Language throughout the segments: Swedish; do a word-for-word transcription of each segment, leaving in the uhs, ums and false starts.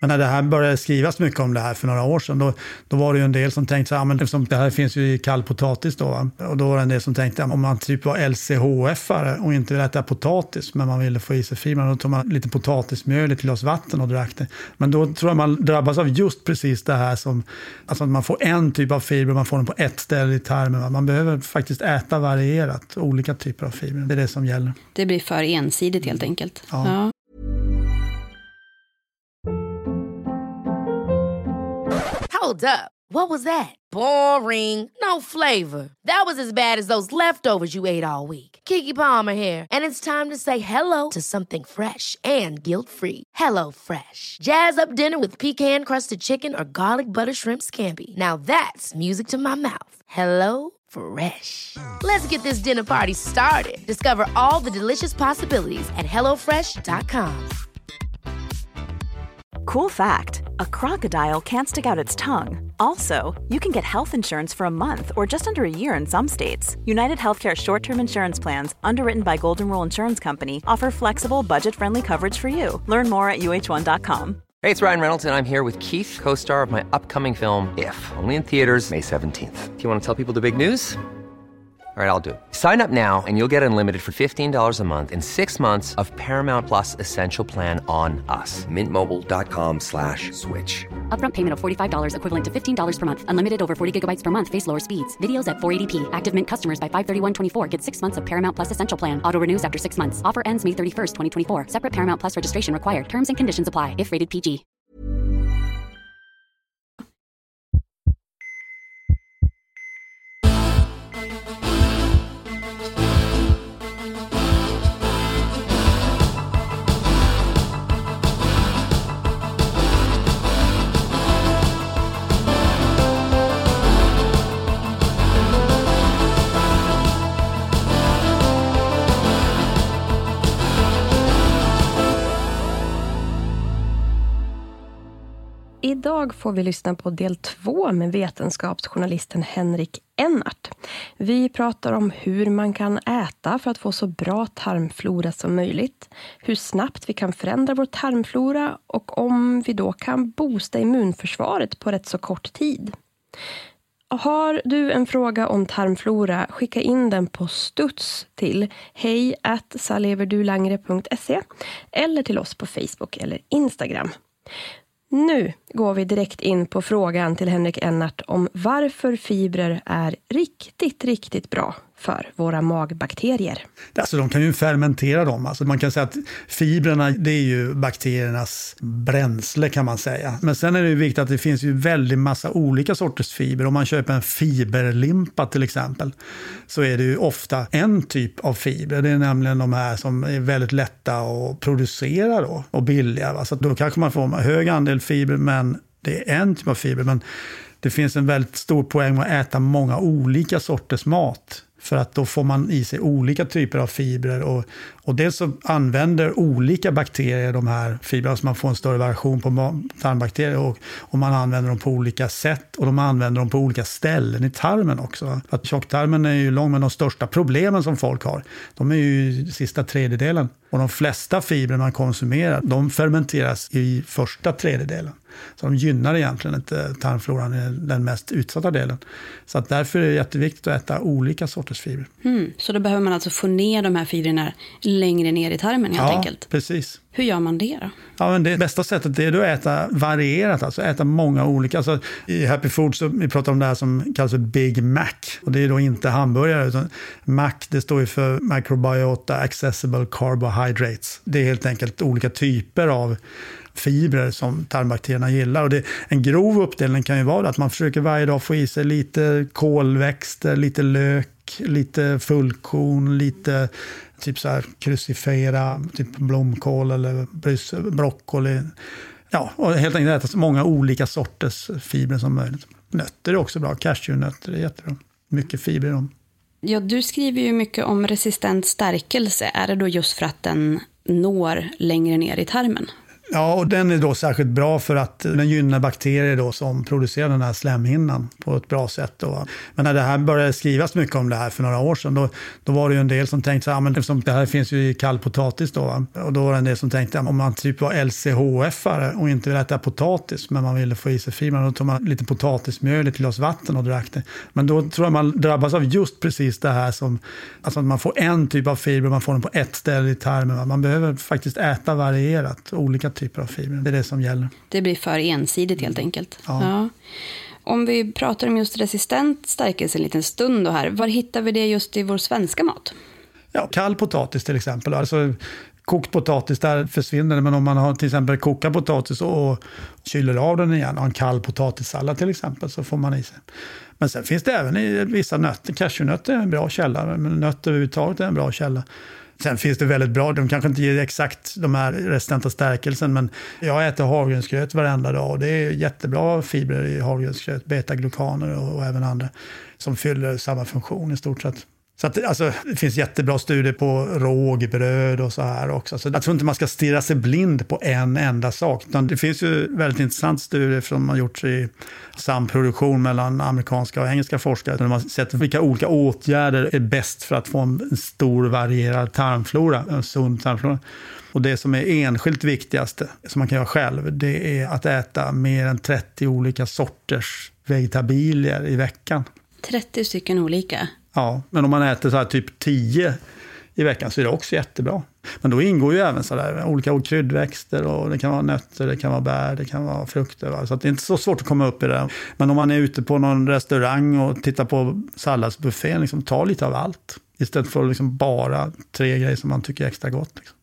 Men när det här började skrivas mycket om det här för några år sedan, då, då var det ju en del som tänkte så här, men eftersom det här finns ju i kall potatis då, va? Och då var det en del som tänkte, om man typ var L C H F-are och inte ville äta potatis, men man ville få i sig fibrer, då tog man lite potatismjöl, lite glas vatten och drack det. Men då tror jag man drabbas av just precis det här som, alltså att man får en typ av fiber, man får den på ett ställe i tarmen. Va? Man behöver faktiskt äta varierat, olika typer av fibrer. Det är det som gäller. Det blir för ensidigt helt enkelt. Ja. Ja. Hold up. What was that? Boring. No flavor. That was as bad as those leftovers you ate all week. Keke Palmer here, and it's time to say hello to something fresh and guilt-free. Hello Fresh. Jazz up dinner with pecan-crusted chicken or garlic butter shrimp scampi. Now that's music to my mouth. Hello Fresh. Let's get this dinner party started. Discover all the delicious possibilities at hello fresh dot com. Cool fact, a crocodile can't stick out its tongue. Also, you can get health insurance for a month or just under a year in some states. United Healthcare short-term insurance plans, underwritten by Golden Rule Insurance Company, offer flexible, budget-friendly coverage for you. Learn more at U H one dot com. Hey, it's Ryan Reynolds, and I'm here with Keith, co-star of my upcoming film, If, only in theaters May seventeenth. Do you want to tell people the big news? All right, I'll do it. Sign up now and you'll get unlimited for fifteen dollars a month and six months of Paramount Plus Essential Plan on us. Mint Mobile dot com slash switch. Upfront payment of forty-five dollars equivalent to fifteen dollars per month. Unlimited over forty gigabytes per month. Face lower speeds. Videos at four eighty p. Active Mint customers by five thirty-one twenty-four get six months of Paramount Plus Essential Plan. Auto renews after six months. Offer ends May thirty-first, twenty twenty-four. Separate Paramount Plus registration required. Terms and conditions apply if rated P G. Idag får vi lyssna på del två med vetenskapsjournalisten Henrik Ennart. Vi pratar om hur man kan äta för att få så bra tarmflora som möjligt, hur snabbt vi kan förändra vår tarmflora och om vi då kan boosta immunförsvaret på rätt så kort tid. Har du en fråga om tarmflora, skicka in den på studs till hej at saleverdulangre punkt se eller till oss på Facebook eller Instagram. Nu går vi direkt in på frågan till Henrik Ennart om varför fibrer är riktigt, riktigt bra för våra magbakterier. Alltså de kan ju fermentera dem. Alltså man kan säga att fibrerna, det är ju bakteriernas bränsle kan man säga. Men sen är det ju viktigt att det finns ju väldigt massa olika sorters fiber. Om man köper en fiberlimpa till exempel så är det ju ofta en typ av fiber. Det är nämligen de här som är väldigt lätta att producera då, och billiga. Va? Så då kanske man får en hög andel fiber, men det är en typ av fiber. Men det finns en väldigt stor poäng med att äta många olika sorters mat. För att då får man i sig olika typer av fibrer. Och, och dels så använder olika bakterier de här fibrerna. Så man får en större variation på tarmbakterier. Och, och man använder dem på olika sätt. Och de använder dem på olika ställen i tarmen också. För att tjocktarmen är ju lång, men de största problemen som folk har, de är ju sista tredjedelen. Och de flesta fibrer man konsumerar, de fermenteras i första tredjedelen. Så de gynnar egentligen inte tarmfloran i den mest utsatta delen. Så att därför är det jätteviktigt att äta olika sorters fibrer. Mm, så då behöver man alltså få ner de här fibrerna längre ner i tarmen helt ja, enkelt? Ja, precis. Hur gör man det då? Ja, men det bästa sättet är att äta varierat, alltså äta många olika. Alltså, i Happy Food så vi pratar om det här som kallas för Big Mac. Och det är då inte hamburgare, utan Mac, det står ju för Microbiota Accessible Carbohydrates. Det är helt enkelt olika typer av fibrer som tarmbakterierna gillar. Och det, en grov uppdelning kan ju vara att man försöker varje dag få i sig lite kolväxter, lite lök, lite fullkorn, lite typ så här crucifera, typ blomkål eller brys, broccoli. Ja, och helt enkelt äta så många olika sorters fibrer som möjligt. Nötter är också bra, cashewnötter är jättebra. Mycket fibrer i dem. Ja, du skriver ju mycket om resistent stärkelse. Är det då just för att den når längre ner i tarmen? Ja, och den är då särskilt bra för att den gynnar bakterier då som producerar den här slemhinnan på ett bra sätt. Då. Men när det här började skrivas mycket om det här för några år sedan, då, då var det ju en del som tänkte, ja, men eftersom det här finns ju i kall potatis då, va? Och då var det en del som tänkte, om man typ var L C H F-are och inte ville äta potatis, men man ville få i sig fibrer, då tog man lite potatismjöl, ett glas vatten och drack det. Men då tror jag man drabbas av just precis det här som, alltså att man får en typ av fiber, man får den på ett ställe i tarmen. Va? Man behöver faktiskt äta varierat, olika typer av fibrer. Det är det som gäller. Det blir för ensidigt helt enkelt. Ja. Ja. Om vi pratar om just resistent stärkelse en liten stund då här, var hittar vi det just i vår svenska mat? Ja, kall potatis till exempel. Alltså kokt potatis, där försvinner det. Men om man har till exempel kokat potatis och kyler av den igen och en kall potatissallad till exempel, så får man i sig. Men sen finns det även i vissa nötter. Cashewnötter är en bra källa, men nötter överhuvudtaget är en bra källa. Sen finns det väldigt bra, de kanske inte ger exakt de här resistenta stärkelsen, men jag äter havregrynsgröt varenda dag och det är jättebra fibrer i havregrynsgröt, betaglukaner och, och även andra som fyller samma funktion i stort sett. Så att, alltså, det finns jättebra studier på rågbröd och så här också. Så jag tror inte man ska stirra sig blind på en enda sak. Det finns ju väldigt intressant studier som har gjorts i samproduktion mellan amerikanska och engelska forskare. Där man har sett vilka olika åtgärder är bäst för att få en stor varierad tarmflora, en sund tarmflora. Och det som är enskilt viktigaste, som man kan göra själv, det är att äta mer än trettio olika sorters vegetabilier i veckan. trettio stycken olika? Ja, men om man äter så här typ tio i veckan så är det också jättebra. Men då ingår ju även så där olika kryddväxter och det kan vara nötter, det kan vara bär, det kan vara frukter. Va? Så att det är inte så svårt att komma upp i det. Men om man är ute på någon restaurang och tittar på salladsbuffén, liksom, ta lite av allt. Istället för liksom bara tre grejer som man tycker är extra gott. Liksom.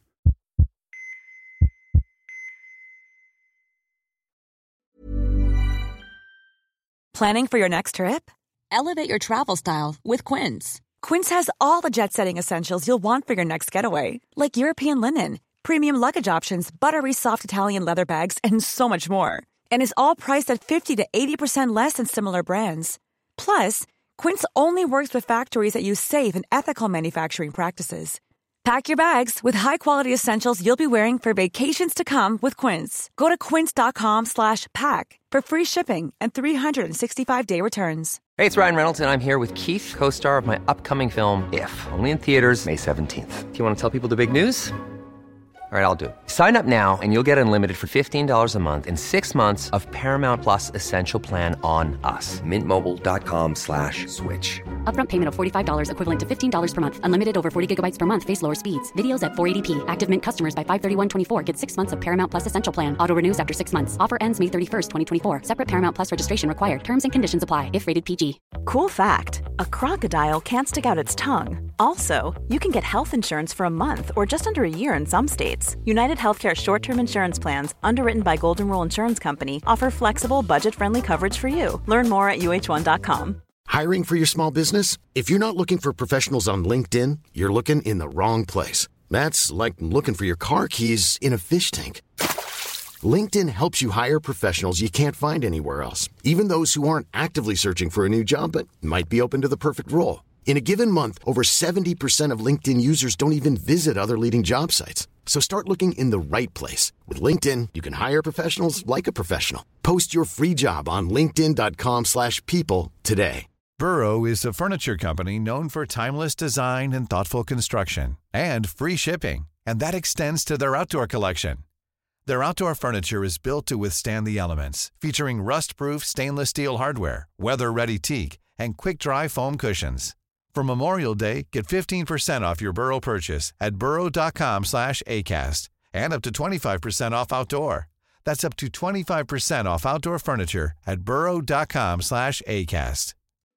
Planning for your next trip? Elevate your travel style with Quince. Quince has all the jet-setting essentials you'll want for your next getaway, like European linen, premium luggage options, buttery soft Italian leather bags, and so much more. And is all priced at fifty to eighty percent less than similar brands. Plus, Quince only works with factories that use safe and ethical manufacturing practices. Pack your bags with high-quality essentials you'll be wearing for vacations to come with Quince. Go to quince.com slash pack for free shipping and three sixty-five day returns. Hey, it's Ryan Reynolds, and I'm here with Keith, co-star of my upcoming film, If, only in theaters May seventeenth. Do you want to tell people the big news? All right, I'll do it. Sign up now and you'll get unlimited for fifteen dollars a month and six months of Paramount Plus Essential Plan on us. Mint Mobile dot com slash switch. Upfront payment of forty-five dollars equivalent to fifteen dollars per month. Unlimited over forty gigabytes per month. Face lower speeds. Videos at four eighty p. Active Mint customers by five thirty-one twenty-four get six months of Paramount Plus Essential Plan. Auto renews after six months. Offer ends May thirty-first, twenty twenty-four. Separate Paramount Plus registration required. Terms and conditions apply if rated P G. Cool fact, a crocodile can't stick out its tongue. Also, you can get health insurance for a month or just under a year in some states. United Healthcare short-term insurance plans, underwritten by Golden Rule Insurance Company, offer flexible, budget-friendly coverage for you. Learn more at U H one dot com. Hiring for your small business? If you're not looking for professionals on LinkedIn, you're looking in the wrong place. That's like looking for your car keys in a fish tank. LinkedIn helps you hire professionals you can't find anywhere else, even those who aren't actively searching for a new job but might be open to the perfect role. In a given month, over seventy percent of LinkedIn users don't even visit other leading job sites. So start looking in the right place. With LinkedIn, you can hire professionals like a professional. Post your free job on linkedin dot com slash people today. Burrow is a furniture company known for timeless design and thoughtful construction, and free shipping, and that extends to their outdoor collection. Their outdoor furniture is built to withstand the elements, featuring rust-proof stainless steel hardware, weather-ready teak, and quick-dry foam cushions. For Memorial Day, get fifteen percent off your Burrow purchase at burrow dot com slash acast, and up to twenty-five percent off outdoor. That's up to twenty-five percent off outdoor furniture at burrow dot com slash acast.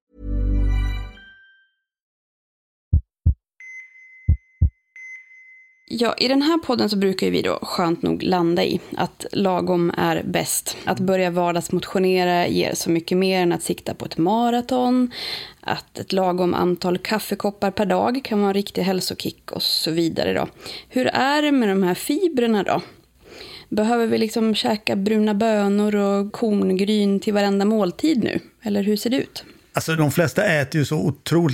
Ja, i den här podden så brukar vi då skönt nog landa i att lagom är bäst. Att börja vardagsmotionera ger så mycket mer än att sikta på ett maraton. Att ett lagom antal kaffekoppar per dag kan vara en riktig hälsokick och så vidare då. Hur är det med de här fibrerna då? Behöver vi liksom käka bruna bönor och korngryn till varenda måltid nu? Eller hur ser det ut? Alltså de flesta äter ju så otroligt lite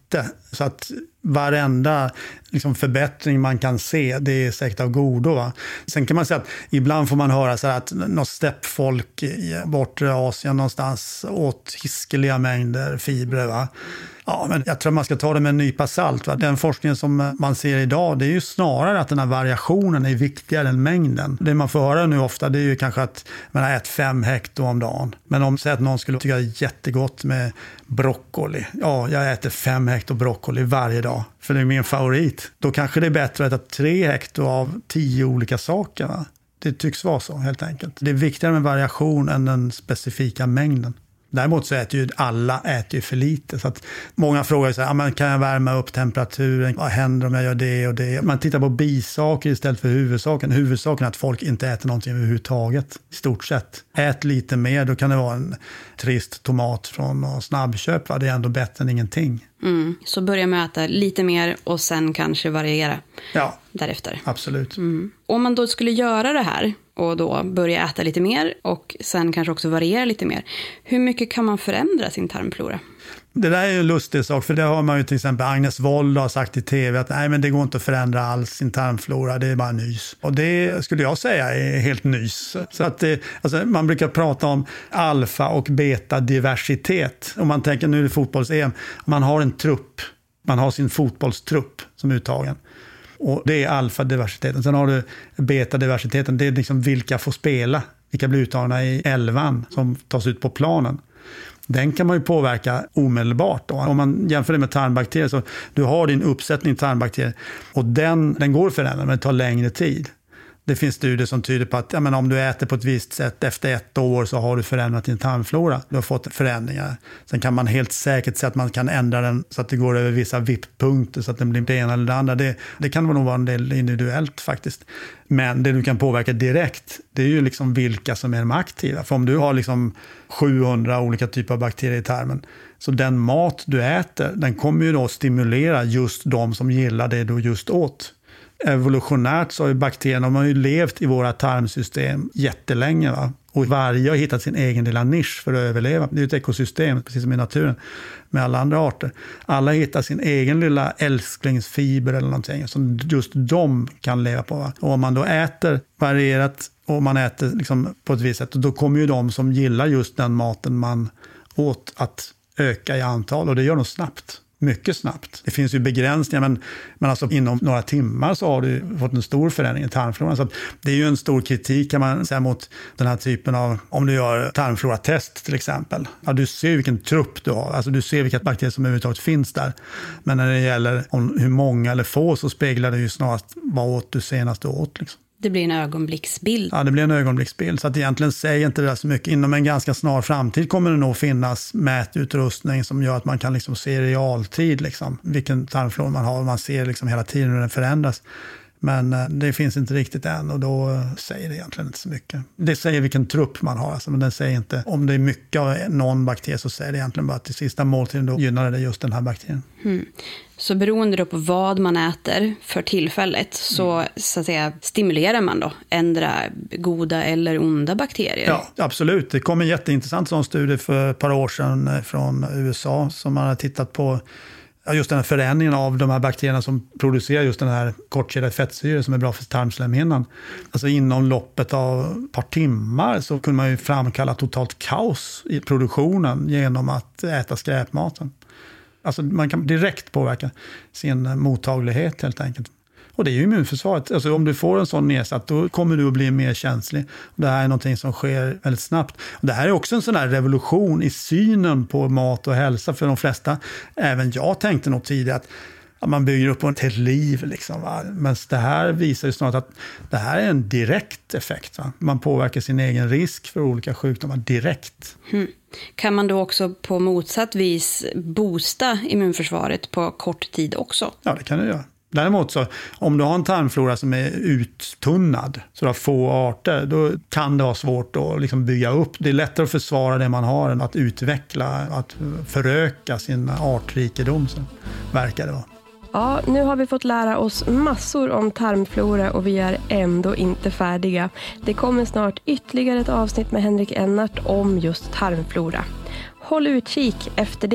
lite. Så att varenda liksom förbättring man kan se, det är säkert av godo. Va? Sen kan man säga att ibland får man höra så här att något steppfolk i bortre Asien någonstans åt hiskeliga mängder fibrer. Va? Ja, men jag tror man ska ta det med en nypa salt. Va? Den forskningen som man ser idag, det är ju snarare att den här variationen är viktigare än mängden. Det man får höra nu ofta, det är ju kanske att man äter fem hekto om dagen. Men om säg att någon skulle tycka det är jättegott med broccoli. Ja, jag äter fem hekto broccoli varje dag, för det är min favorit. Då kanske det är bättre att äta tre hekto av tio olika saker. Va? Det tycks vara så helt enkelt. Det är viktigare med variation än den specifika mängden. Däremot så äter ju alla äter ju för lite. Så att många frågar så här, ah, men kan jag värma upp temperaturen? Vad händer om jag gör det och det? Man tittar på bisaker istället för huvudsaken. Huvudsaken är att folk inte äter någonting överhuvudtaget. I stort sett. Ät lite mer, då kan det vara en trist tomat från snabbköp. Va? Det är ändå bättre än ingenting. Mm. Så börja med att äta lite mer och sen kanske variera ja, därefter. Absolut. Mm. Om man då skulle göra det här och då börja äta lite mer och sen kanske också variera lite mer. Hur mycket kan man förändra sin tarmflora? Det där är ju en lustig sak, för det har man ju till exempel Agnes Wold har sagt i tv att nej, men det går inte att förändra alls sin tarmflora, det är bara nys. Och det skulle jag säga är helt nys. Så att det, alltså man brukar prata om alfa- och beta-diversitet. Om man tänker nu är det fotbolls-E M, man har en trupp, man har sin fotbollstrupp som uttagen. Och det är alfa-diversiteten. Sen har du beta-diversiteten, det är liksom vilka får spela, vilka blir uttagna i elvan som tas ut på planen. Den kan man ju påverka omedelbart. Då. Om man jämför det med tarmbakterier så du har din uppsättning tarmbakterier och den, den går att förändra, men det tar längre tid. Det finns studier som tyder på att ja, men om du äter på ett visst sätt efter ett år så har du förändrat din tarmflora. Du har fått förändringar. Sen kan man helt säkert säga att man kan ändra den så att det går över vissa vipppunkter så att den blir det ena eller det andra. Det, det kan nog vara en del individuellt faktiskt. Men det du kan påverka direkt, det är ju liksom vilka som är de aktiva. För om du har liksom sjuhundra olika typer av bakterier i tarmen, så den mat du äter, den kommer ju då stimulera just de som gillar det du just åt. Evolutionärt så har ju bakterierna, de har ju levt i våra tarmsystem jättelänge. Va? Och varje har hittat sin egen lilla nisch för att överleva. Det är ju ett ekosystem, precis som i naturen, med alla andra arter. Alla hittar sin egen lilla älsklingsfiber eller någonting som just de kan leva på. Va? Och om man då äter varierat och man äter liksom på ett visst sätt, då kommer ju de som gillar just den maten man åt att öka i antal. Och det gör de snabbt. Mycket snabbt. Det finns ju begränsningar, men, men alltså inom några timmar så har du fått en stor förändring i tarmfloran. Så det är ju en stor kritik kan man säga mot den här typen av, om du gör tarmfloratest till exempel. Ja, du ser vilken trupp du har, alltså du ser vilka bakterier som överhuvudtaget finns där. Men när det gäller om hur många eller få så speglar det ju snarast vad åt du senast du åt liksom. Det blir en ögonblicksbild. Ja, det blir en ögonblicksbild. Så att egentligen säger inte det där så mycket. Inom en ganska snar framtid kommer det nog finnas mätutrustning som gör att man kan liksom se i realtid liksom, vilken tarmflora man har. Man ser liksom hela tiden hur den förändras. Men det finns inte riktigt än och då säger det egentligen inte så mycket. Det säger vilken trupp man har, alltså, men den säger inte om det är mycket av någon bakterie, så säger det egentligen bara att till sista måltiden då gynnar det just den här bakterien. Mm. Så beroende då på vad man äter för tillfället så, mm. så att säga, stimulerar man då ändra goda eller onda bakterier? Ja, absolut. Det kom en jätteintressant sån studie för ett par år sedan från U S A som man har tittat på just den här förändringen av de här bakterierna som producerar just den här kortkedjade fettsyre som är bra för tarmslemhinnan. Alltså inom loppet av ett par timmar så kunde man ju framkalla totalt kaos i produktionen genom att äta skräpmaten. Alltså man kan direkt påverka sin mottaglighet helt enkelt. Och det är ju immunförsvaret. Alltså om du får en sån nedsatt, då kommer du att bli mer känslig. Det här är någonting som sker väldigt snabbt. Och det här är också en sån här revolution i synen på mat och hälsa för de flesta. Även jag tänkte nog tidigare att ja, man bygger upp ett helt liv. Liksom, va? Men det här visar ju snart att det här är en direkt effekt. Va? Man påverkar sin egen risk för olika sjukdomar direkt. Mm. Kan man då också på motsatt vis boosta immunförsvaret på kort tid också? Ja, det kan du göra. Däremot så, om du har en tarmflora som är uttunnad, så du har få arter, då kan det vara svårt att liksom bygga upp. Det är lättare att försvara det man har än att utveckla, att föröka sin artrikedom, så verkar det vara. Ja, nu har vi fått lära oss massor om tarmflora och vi är ändå inte färdiga. Det kommer snart ytterligare ett avsnitt med Henrik Ennart om just tarmflora. Håll utkik efter det.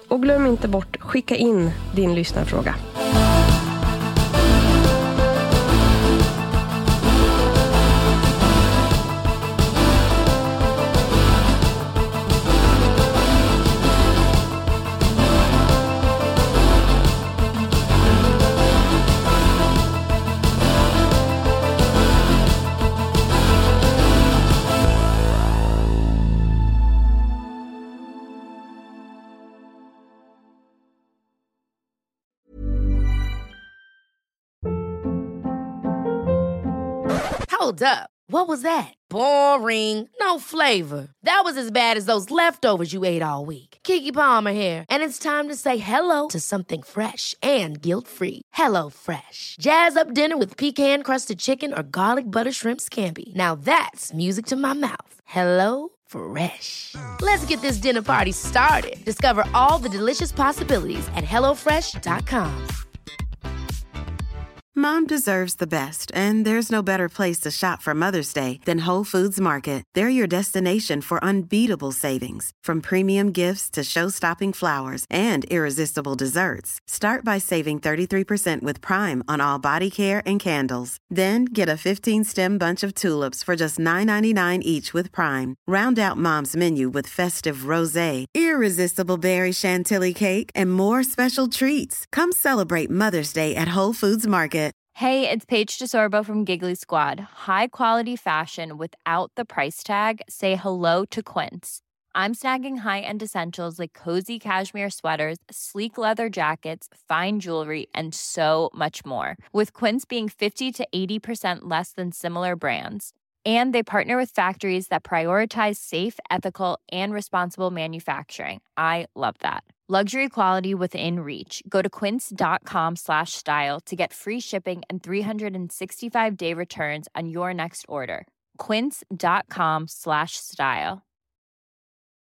Och glöm inte bort, skicka in din lyssnarfråga. Hold up. What was that? Boring. No flavor. That was as bad as those leftovers you ate all week. Keke Palmer here, and it's time to say hello to something fresh and guilt-free. Hello Fresh. Jazz up dinner with pecan-crusted chicken or garlic butter shrimp scampi. Now that's music to my mouth. Hello Fresh. Let's get this dinner party started. Discover all the delicious possibilities at hello fresh dot com. Mom deserves the best, and there's no better place to shop for Mother's Day than Whole Foods Market. They're your destination for unbeatable savings, from premium gifts to show-stopping flowers and irresistible desserts. Start by saving thirty-three percent with Prime on all body care and candles. Then get a fifteen-stem bunch of tulips for just nine ninety-nine each with Prime. Round out Mom's menu with festive rosé, irresistible berry chantilly cake, and more special treats. Come celebrate Mother's Day at Whole Foods Market. Hey, it's Paige DeSorbo from Giggly Squad. High quality fashion without the price tag. Say hello to Quince. I'm snagging high-end essentials like cozy cashmere sweaters, sleek leather jackets, fine jewelry, and so much more. With Quince being fifty to eighty percent less than similar brands. And they partner with factories that prioritize safe, ethical, and responsible manufacturing. I love that. Luxury quality within reach. Go to quince.com slash style to get free shipping and three sixty-five day returns on your next order. Quince.com slash style.